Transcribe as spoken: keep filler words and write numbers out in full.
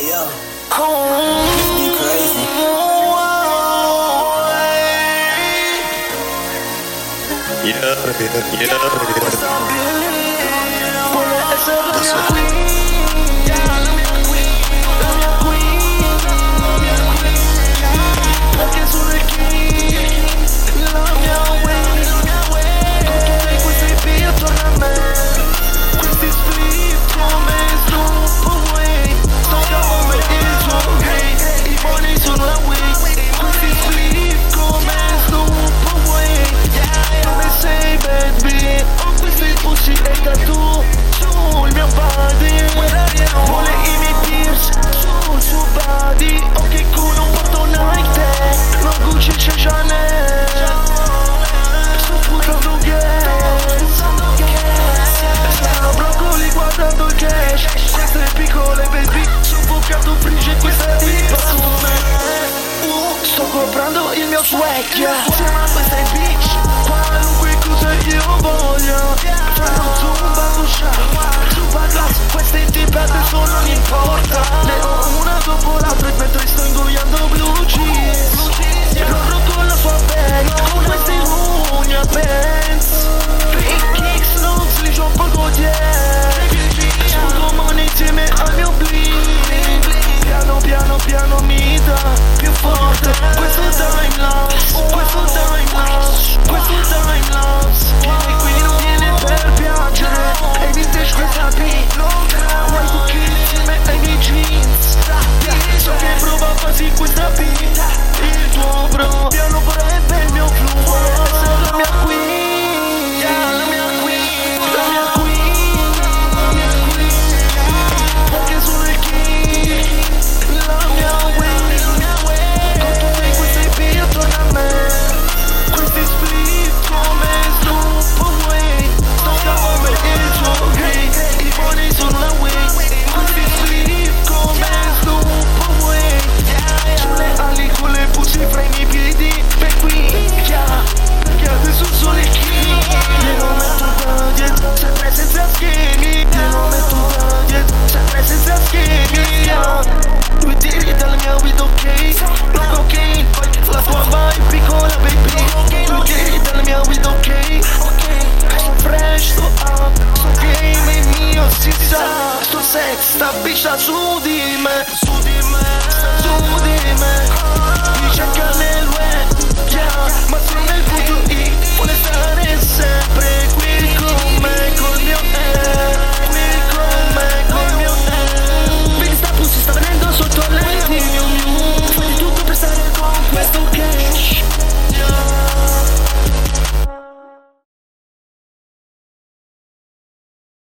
yo. You crazy. Yeah, yeah, yeah. That's what comprando il mio swag, yeah. Insieme a questa bitch, qualunque cosa io voglia. Fanno zumba con sciarpa, zumba glass, queste tipe adesso non importa. Ne ho una dopo l'altra mentre sto ingoiando blue cheese. Loro con la sua bag, con queste lugna pants. Big kicks, non si li un po' yeah. Sputo money insieme al mio bling. Piano piano piano mi dà più forte questo time lapse, questo time lapse, questo time lapse. Vieni qui non viene per piangere, e vintage questa beat. Vuoi cookie insieme ai miei jeans. So che prova quasi questa beat. Il tuo bro, piano vorrebbe il mio flow. Vuole essere la mia queen, la mia queen, la mia queen, la mia queen. Perché sono il king. La mia way, la mia way. Con tutte queste beat attorno a me. Questi split come Snoop Away. Sto come il suo hate. I buoni sono la way. Questi split come Snoop Away. Sulle ali con le pussy fra i miei piedi. Per qui, yeah. Perché adesso sono il king. Glielo metto da dietro, sempre senza schemi. Glielo metto da dietro, sempre senza schemi, yeah. Due tiri dalla mia weed, ok. No cocaine, poi la tua vai piccola baby. Due tiri dalla mia weed, ok. Sto fresh, sto up, sto game è mio, si sa. Sto sex, sta bitch da su di me.